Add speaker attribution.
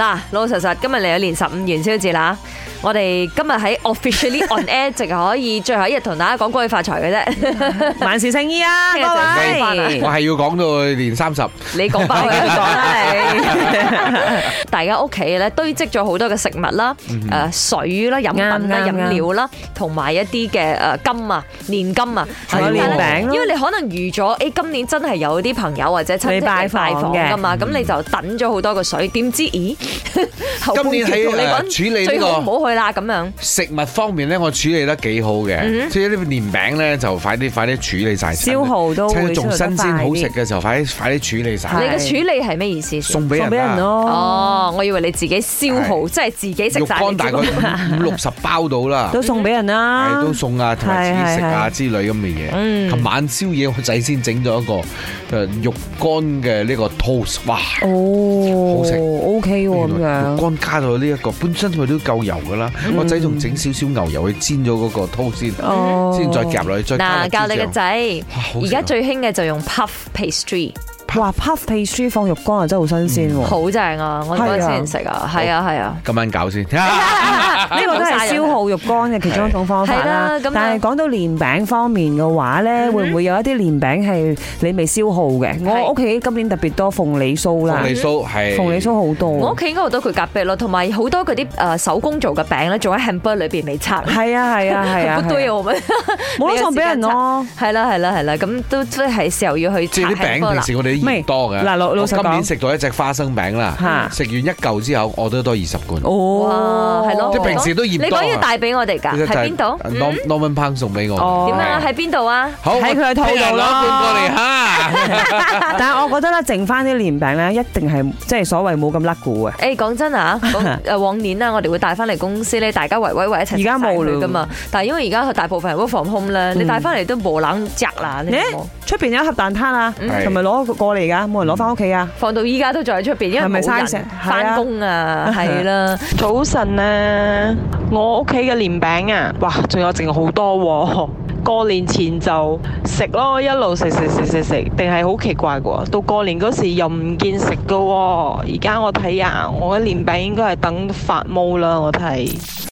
Speaker 1: 嗱，老老實實今日嚟咗年15元宵節啦，我哋今日喺 officially on air 淨係可以最後一日同大家講恭喜發財嘅啫，
Speaker 2: 萬事勝意啊，各位！
Speaker 3: 我係要講到年30，
Speaker 1: 你講翻去講啦你。大家屋企咧堆積咗好多嘅食物啦、水啦、飲品啦、飲料啦，同埋一啲嘅金啊、年金啊，
Speaker 2: 仲有年餅咯。
Speaker 1: 因為你可能預咗，今年真係有啲朋友或者親戚嚟拜訪㗎嘛，咁你就等咗好多個水，點知咦？
Speaker 3: 今年喺處理呢個
Speaker 1: 唔好去啦咁樣。
Speaker 3: 食物方面咧，我處理得幾好嘅，即係呢個年餅咧就快啲處理晒，
Speaker 2: 消耗都會
Speaker 3: 仲新鮮好食嘅時候，快啲處理晒。
Speaker 1: 你嘅處理係咩意思？
Speaker 3: 送俾人
Speaker 2: 咯。
Speaker 1: 哦，我以為你自己消耗，即係自己食晒。
Speaker 3: 肉乾大概50-60包到啦，
Speaker 2: 都送俾人啦，
Speaker 3: 係都送啊，同埋自己食啊之類咁嘅嘢。琴晚宵夜我仔先整咗一個肉乾嘅呢個 toast， 哇，好食
Speaker 2: ，OK 喎咁樣。
Speaker 3: 肉乾加到呢一個，本身佢都夠油噶啦，我仔仲整少少牛油去煎咗嗰個 toast先再夾落去，再加落豬醬。
Speaker 1: 教你個仔，而家最興嘅就用 puff pastry。
Speaker 2: 哇 puff pastry 放肉乾啊，真係好新鮮喎！
Speaker 1: 好正啊！我嗰陣時食啊，係啊。
Speaker 3: 今晚搞先，
Speaker 2: 呢個都係消耗肉乾嘅其中一種方法啦。但係講到年餅方面嘅話咧，會唔會有一啲年餅係你未消耗嘅？我屋企今年特別多鳳梨酥啦，鳳梨酥好多。
Speaker 1: 我屋企應該好多佢夾壁咯，同埋好多嗰啲手工做嘅餅咧，仲喺 hamper 裏邊未拆。
Speaker 2: 係啊，
Speaker 1: 好多嘢我
Speaker 2: 冇得送俾人咯。
Speaker 1: 係啦，咁都即係時候要去拆 hamper 啦。
Speaker 3: 即係啲餅平時我哋唔多嘅。
Speaker 2: 嗱，老實講，
Speaker 3: 今年食到一隻花生餅啦，食完一嚿之後，我都多20罐。
Speaker 1: 哇，係咯，
Speaker 3: 即係平時都嫌多。
Speaker 1: 你講要帶俾我哋㗎，喺邊度
Speaker 3: ？Norman Pang 送俾我。
Speaker 1: 點啊？喺邊度啊？
Speaker 3: 好，
Speaker 2: 喺佢嘅肚度咯。
Speaker 3: 攞一罐過嚟嚇。
Speaker 2: 但係我覺得咧，剩翻啲年餅咧，一定係即係所謂冇咁甩股嘅。
Speaker 1: 誒，講真啊，往年啊，我哋會帶翻嚟公司咧，大家圍一齊。
Speaker 2: 而家冇㗎
Speaker 1: 嘛。但係因為而家大部分人 work from home 咧，你帶翻嚟都冇冷隻啦。
Speaker 2: 出邊有一盒蛋撻啊，同埋攞過嚟㗎，冇人攞翻屋企啊。
Speaker 1: 放到依家都仲喺出邊，因為冇人翻工啊，係啦。
Speaker 4: 早晨啊，我屋企嘅年餅啊，哇，仲有剩好多喎。過年前就食咯，一路食，定係好奇怪嘅。到過年嗰時又唔見食嘅喎。而家我睇啊，我嘅年餅應該係等發毛啦，我睇。